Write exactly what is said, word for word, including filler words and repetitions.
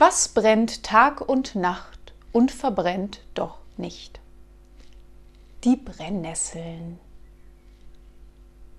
Was brennt Tag und Nacht und verbrennt doch nicht? Die Brennnesseln.